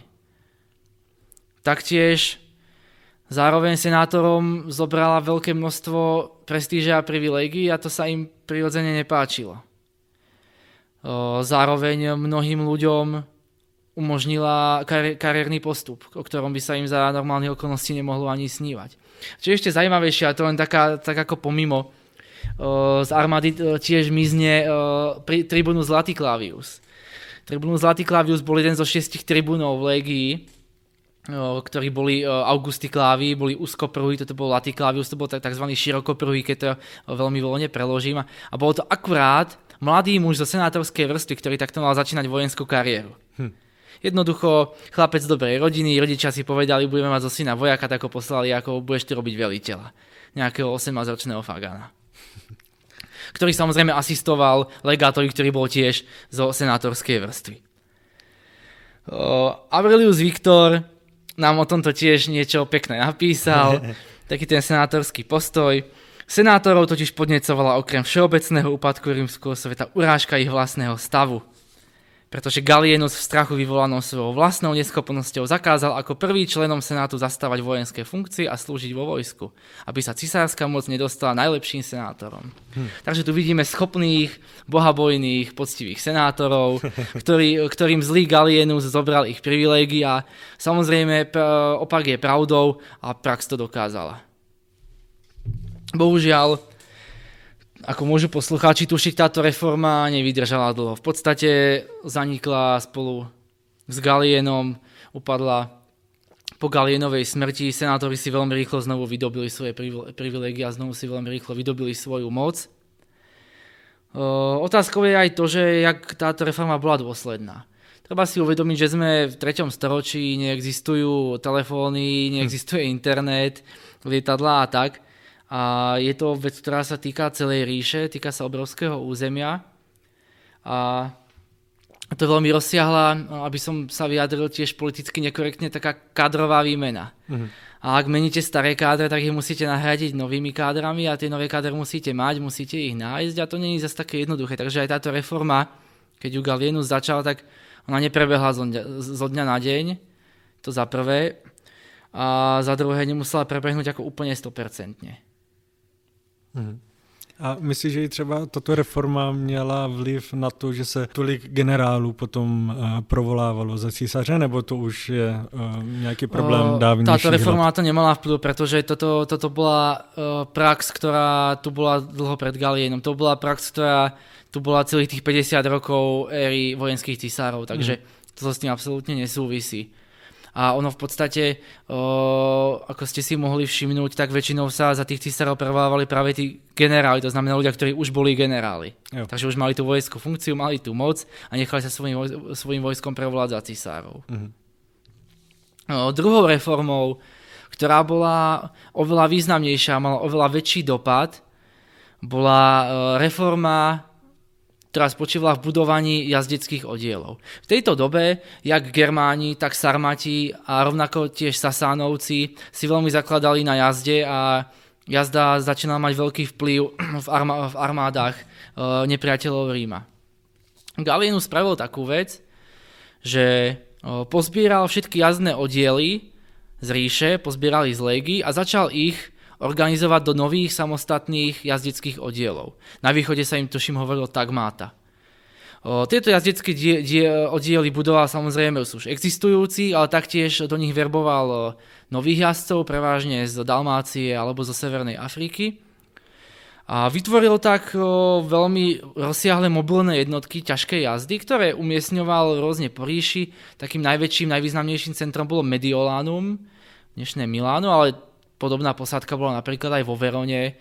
Taktiež zároveň senátorom zobrala veľké množstvo prestíže a privilégií a to sa im prirodzene nepáčilo. Zároveň mnohým ľuďom umožnila kari- kariérny postup, o ktorom by sa im za normálnych okolností nemohlo ani snívať. Čo je ešte zaujímavejšie, a to len taká, tak ako pomimo, o, z armády tiež mizne o, pri, tribunus Laticlavius. Tribunus Laticlavius bol jeden zo šiestich tribunov v légii, o, ktorí boli o, Augusticlavi, boli úzkopruhí, toto bol Laticlavius, to bol tzv. Širokopruhý, keď to o, veľmi voľne preložím. A bolo to akurát mladý muž zo senátorskej vrstvy, ktorý takto mal začínať vojenskú kariéru. Hm. Jednoducho, chlapec dobrej rodiny, rodičia si povedali, budeme mať zo syna vojaka, tak ho poslali, ako budeš to robiť veliteľa. Nejakého osemnásťročného Fagana. Ktorý samozrejme asistoval legátovi, ktorý bol tiež zo senátorskej vrstvy. Aurelius Victor nám o tomto tiež niečo pekné napísal, taký ten senátorský postoj. Senátorov totiž podnecovala okrem všeobecného úpadku rímskeho sveta urážka ich vlastného stavu. pretože Gallienus v strachu vyvolanom svojou vlastnou neschopnosťou zakázal ako prvý členom senátu zastávať vojenské funkcie a slúžiť vo vojsku, aby sa cisárska moc nedostala najlepším senátorom. Hm. Takže tu vidíme schopných, bohabojných, poctivých senátorov, ktorý, ktorým zlý Gallienus zobral ich privilégia. Samozrejme, opak je pravdou a prax to dokázala. Bohužiaľ, ako môžu poslucháči tušiť, táto reforma nevydržala dlho. V podstate zanikla spolu s Galienom, upadla po Galienovej smrti. Senátori si veľmi rýchlo znovu vydobili svoje privilégia, znovu si veľmi rýchlo vydobili svoju moc. Otázkou je aj to, že jak táto reforma bola dôsledná. Treba si uvedomiť, že sme v treťom storočí, neexistujú telefóny, neexistuje internet, lietadlá a tak. A je to vec, ktorá sa týka celej ríše, týka sa obrovského územia. A to je veľmi rozsiahla, aby som sa vyjadril tiež politicky nekorektne, taká kádrová výmena. Uh-huh. A ak meníte staré kádre, tak ich musíte nahradiť novými kádrami a tie nové kádre musíte mať, musíte ich nájsť a to nie je zase také jednoduché. Takže aj táto reforma, keď ju Gallienus začal, tak ona neprebehla zo dňa, zo dňa na deň, to za prvé. A za druhé nemusela prebehnúť ako úplne sto percent. Hmm. A myslíš, že i třeba tato reforma měla vliv na to, že se tolik generálů potom uh, provolávalo za císaře, nebo to už je uh, nějaký problém dávnější? Táto reforma na to nemala vplyv, pretože toto, toto bola uh, prax, ktorá tu bola dlho pred Galienom. To bola prax, ktorá tu bola celých tých päťdesiat rokov éry vojenských císárov, takže hmm. to s tým absolútne nesúvisí. A ono v podstate, o, ako ste si mohli všimnúť, tak väčšinou sa za tých císarov prevolávali práve tí generáli, to znamená ľudia, ktorí už boli generáli. Jo. Takže už mali tú vojenskú funkciu, mali tú moc a nechali sa svojim, svojim vojskom prevolať za císárov. Mhm. O, druhou reformou, ktorá bola oveľa významnejšia, mala oveľa väčší dopad, bola o, reforma, ktorá spočívala v budovaní jazdeckých oddielov. V tejto dobe, jak Germáni, tak Sarmati a rovnako tiež Sasánovci si veľmi zakladali na jazde a jazda začínala mať veľký vplyv v, armá- v armádach e, nepriateľov Ríma. Gallienus spravil takú vec, že e, pozbieral všetky jazdné oddiely z ríše, pozbieral ich z légy a začal ich organizovať do nových samostatných jazdeckých oddielov. Na východe sa im tuším hovorilo tagmáta. O, tieto jazdecké die, die, oddiely budoval samozrejme už existujúci, ale taktiež do nich verboval nových jazdcov, prevažne z Dalmácie alebo zo Severnej Afriky. A vytvoril tak o, veľmi rozsiahle mobilné jednotky ťažkej jazdy, ktoré umiestňoval rôzne po ríši. Takým najväčším, najvýznamnejším centrom bolo Mediolanum, dnešné Miláno, ale podobná posádka bola napríklad aj vo Verone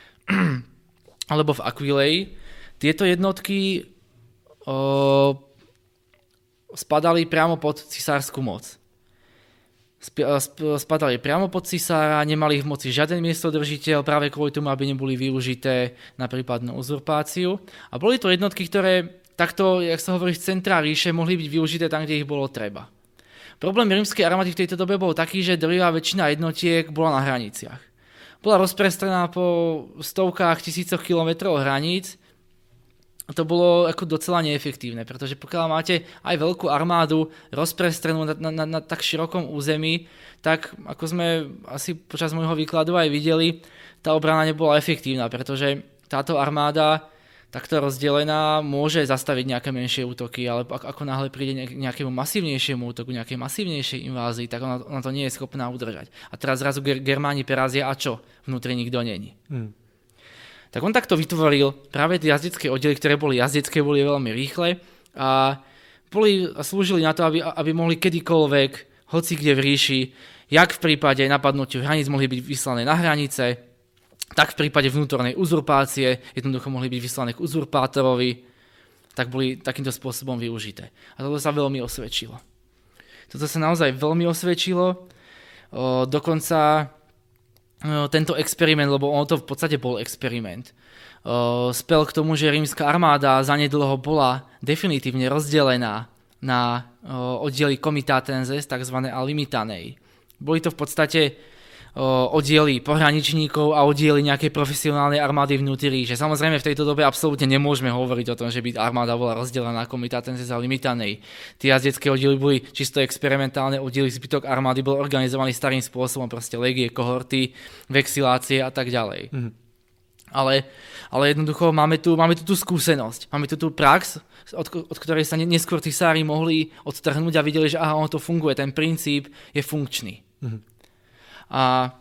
alebo v Aquileji. Tieto jednotky o, spadali priamo pod cisárskú moc. Sp- sp- spadali priamo pod cisára, nemali v moci žiaden miestodržiteľ, práve kvôli tomu, aby neboli využité na prípadnú uzurpáciu. A boli to jednotky, ktoré takto, jak sa hovorí, z centra ríše mohli byť využité tam, kde ich bolo treba. Problém rímskej armády v tejto dobe bol taký, že drvivá väčšina jednotiek bola na hraniciach. Bola rozprestrená po stovkách, tisícoch kilometrov hraníc. To bolo ako docela neefektívne, pretože pokiaľ máte aj veľkú armádu rozprestrenú na, na, na tak širokom území, tak ako sme asi počas môjho výkladu aj videli, tá obrana nebola efektívna, pretože táto armáda takto rozdelená môže zastaviť nejaké menšie útoky, ale ako náhle príde nejakému masívnejšiemu útoku, nejakej masívnejšej invázii, tak ona, ona to nie je schopná udržať. A teraz zrazu Germáni perazia a čo? Vnútri nikto není. Hmm. Tak on takto vytvoril práve tie jazdecké oddiely, ktoré boli jazdecké, boli veľmi rýchle a, boli, a slúžili na to, aby, aby mohli kedykoľvek, hoci kde v ríši, jak v prípade napadnutia hraníc mohli byť vyslané na hranice, tak v prípade vnútornej uzurpácie jednoducho mohli byť vyslané k uzurpátorovi, tak boli takýmto spôsobom využité. A toto sa veľmi osvedčilo. Toto sa naozaj veľmi osvedčilo. O, dokonca o, tento experiment, lebo ono to v podstate bol experiment, o, spel k tomu, že rímska armáda zanedlho bola definitívne rozdelená na o, oddiely comitatenses, tzv. A limitanei. Boli to v podstate oddiely pohraničníkov a oddiely nejakej profesionálnej armády vnútri ríše. Samozrejme v tejto dobe absolútne nemôžeme hovoriť o tom, že by armáda bola rozdelená na komitatence za limitanej. Tie jazdecké oddiely boli čisto experimentálne oddiely, zbytok armády bol organizovaný starým spôsobom, proste legie, kohorty, vexilácie a tak ďalej. Mhm. Ale, ale jednoducho máme tu, máme tu tú skúsenosť, máme tu tú prax, od, od ktorej sa neskôr tisári mohli odtrhnúť a videli, že aha, ono to funguje, ten princíp je funkčný. Mhm. A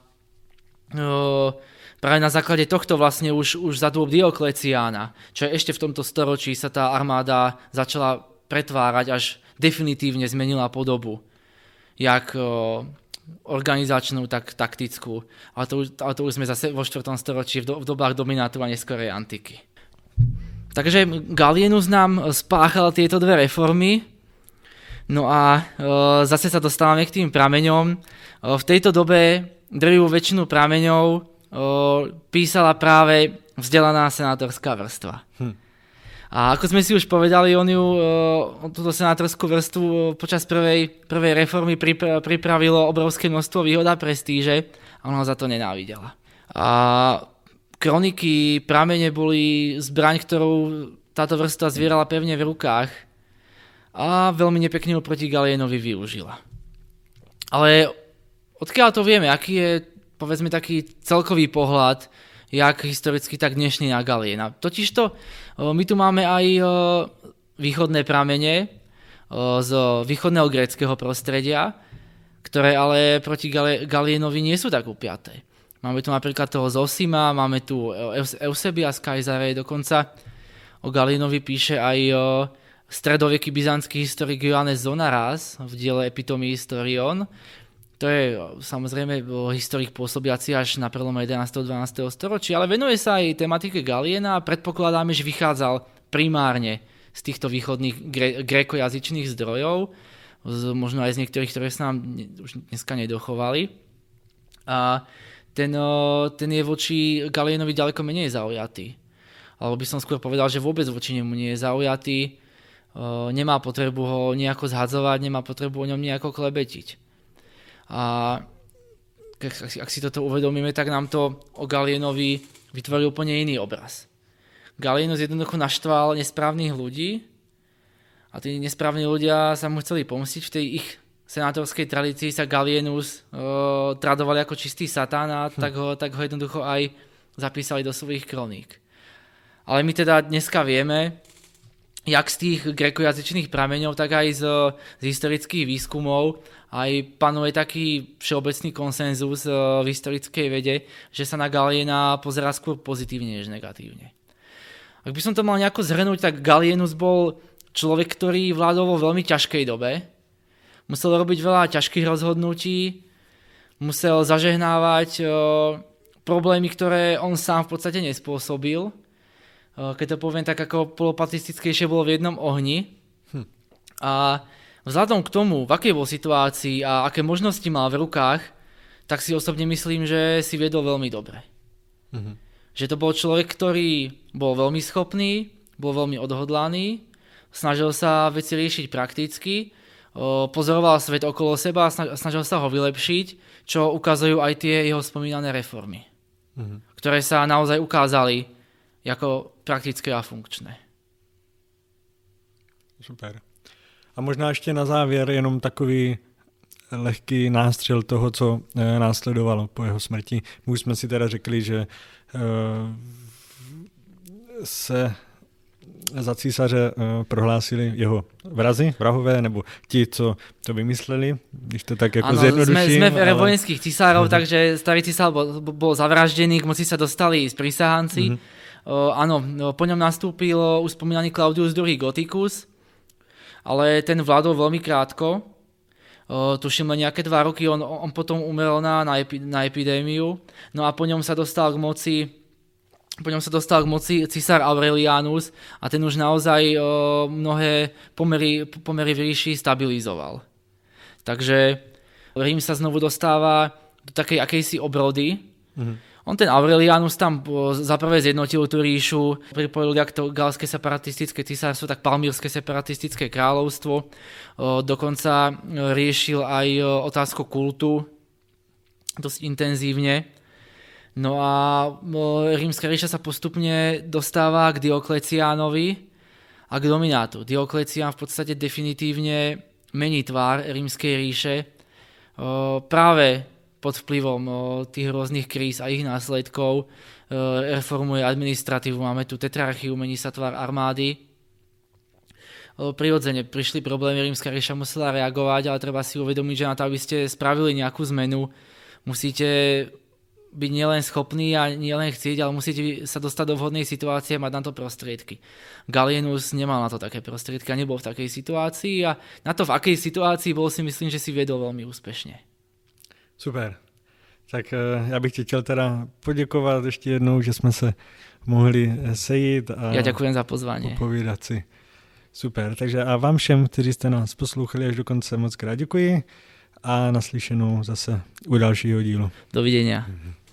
o, práve na základe tohto vlastne už, už za dôb Diokleciána, čo je ešte v tomto storočí, sa tá armáda začala pretvárať, až definitívne zmenila podobu. Jak o, organizačnú, tak taktickú. Ale to, ale to už sme zase vo štvrtom storočí v, do, v dobách dominátu a neskorej antiky. Takže Gallienus nám spáchal tieto dve reformy. No a e, zase sa dostávame k tým prameňom. E, v tejto dobe drvivú väčšinu prameňov e, písala práve vzdelaná senátorská vrstva. Hm. A ako sme si už povedali, on ju, e, túto senátorskú vrstvu počas prvej, prvej reformy pripra- pripravilo obrovské množstvo výhod a prestíže a ona ho za to nenávidela. A kroniky, pramene boli zbraň, ktorú táto vrstva zvierala pevne v rukách a veľmi nepekne ho proti Gallienovi využila. Ale odkiaľ to vieme, aký je, povedzme, taký celkový pohľad, jak historicky, tak dnešný na Galliena. Totižto my tu máme aj východné pramene z východného gréckeho prostredia, ktoré ale proti Gallienovi nie sú tak upiaté. Máme tu napríklad toho Zosima, máme tu Eusebius z Kaisare, dokonca o Gallienovi píše aj stredoveký byzantský historik Ioannes Zonaras v diele Epitome Historion. To je samozrejme historik pôsobiaci až na prelome jedenásteho a dvanásteho storočia, ale venuje sa aj tematike Galliena a predpokladáme, že vychádzal primárne z týchto východných gre- grékojazyčných zdrojov, z, možno aj z niektorých, ktoré sa nám už dneska nedochovali. A ten, ten je voči Gallienovi ďaleko menej zaujatý. Alebo by som skôr povedal, že vôbec voči nemu nie je zaujatý. Nemá potrebu ho nejako zhadzovať, nemá potrebu o ňom nejako klebetiť. A ak si toto uvedomíme, tak nám to o Gallienovi vytvorí úplne iný obraz. Gallienus jednoducho naštval nesprávnych ľudí a tí nesprávni ľudia sa mu chceli pomstiť. V tej ich senátorskej tradícii sa Gallienus o, tradoval ako čistý satán a hm. tak, ho, tak ho jednoducho aj zapísali do svojich kroník. Ale my teda dneska vieme, jak z tých grékojazyčných prameňov, tak aj z, z historických výskumov aj panuje taký všeobecný konsenzus v historickej vede, že sa na Galliena pozerá skôr pozitívne než negatívne. Ak by som to mal nejako zhrnúť, tak Gallienus bol človek, ktorý vládol vo veľmi ťažkej dobe. Musel robiť veľa ťažkých rozhodnutí, musel zažehnávať o, problémy, ktoré on sám v podstate nespôsobil. Keď to poviem tak, ako polopatistickejšie bolo v jednom ohni. Hm. A vzhľadom k tomu, v akej bol situácii a aké možnosti mal v rukách, tak si osobne myslím, že si viedol veľmi dobre. Mhm. Že to bol človek, ktorý bol veľmi schopný, bol veľmi odhodlaný, snažil sa veci riešiť prakticky, pozoroval svet okolo seba a snažil sa ho vylepšiť, čo ukazujú aj tie jeho spomínané reformy, mhm. ktoré sa naozaj ukázali jako praktické a funkčné. Super. A možná ještě na závěr jenom takový lehký nástřel toho, co e, následovalo po jeho smrti. My už jsme si teda řekli, že e, se za císaře e, prohlásili jeho vrazi, vrahové, nebo ti, co to vymysleli, když to tak jako zjednoduším. Ano, jsme v ére ale... vojenských císárov, uh-huh. takže starý císar bol, bol zavraždený, k moci sa dostali sprísahanci. Uh-huh. Uh, áno, po ňom nastúpil už spomínaný Claudius druhý. Gothicus, ale ten vládol veľmi krátko. Uh, tuším len nejaké dva roky, on, on potom umrel na, na, epi, na epidémiu. No a po ňom sa dostal k moci po ňom sa dostal k moci císar Aurelianus a ten už naozaj uh, mnohé pomery, pomery v ríši stabilizoval. Takže Rím sa znovu dostáva do takej akejsi obrody. Mhm. On ten Aurelianus tam za prvé zjednotil tú ríšu, pripojil jak to galské separatistické císarstvo, tak palmírske separatistické kráľovstvo. Dokonca riešil aj otázku kultu dosť intenzívne. No a Rímska ríša sa postupne dostáva k Diokleciánovi a k dominátu. Dioklecián v podstate definitívne mení tvár Rímskej ríše práve pod vplyvom tých rôznych kríz a ich následkov. Reformuje administratívu, máme tu tetrarchiu, mení sa tvár armády. Prirodzene prišli problémy, Rímska ríša musela reagovať, ale treba si uvedomiť, že na to, aby ste spravili nejakú zmenu, musíte byť nielen schopný a nielen chcieť, ale musíte sa dostať do vhodnej situácie a mať na to prostriedky. Gallienus nemal na to také prostriedky a nebol v takej situácii a na to, v akej situácii bol, si myslím, že si viedol veľmi úspešne. Super. Tak já bych ti chtěl teda poděkovat ještě jednou, že jsme se mohli sejít a ja ďakujem za pozvanie. Popovídat si. Super. Takže a vám všem, kteří jste nás poslouchali až do konce, moc krát děkuji a naslyšenou zase u dalšího dílu. Dovidenia. Mhm.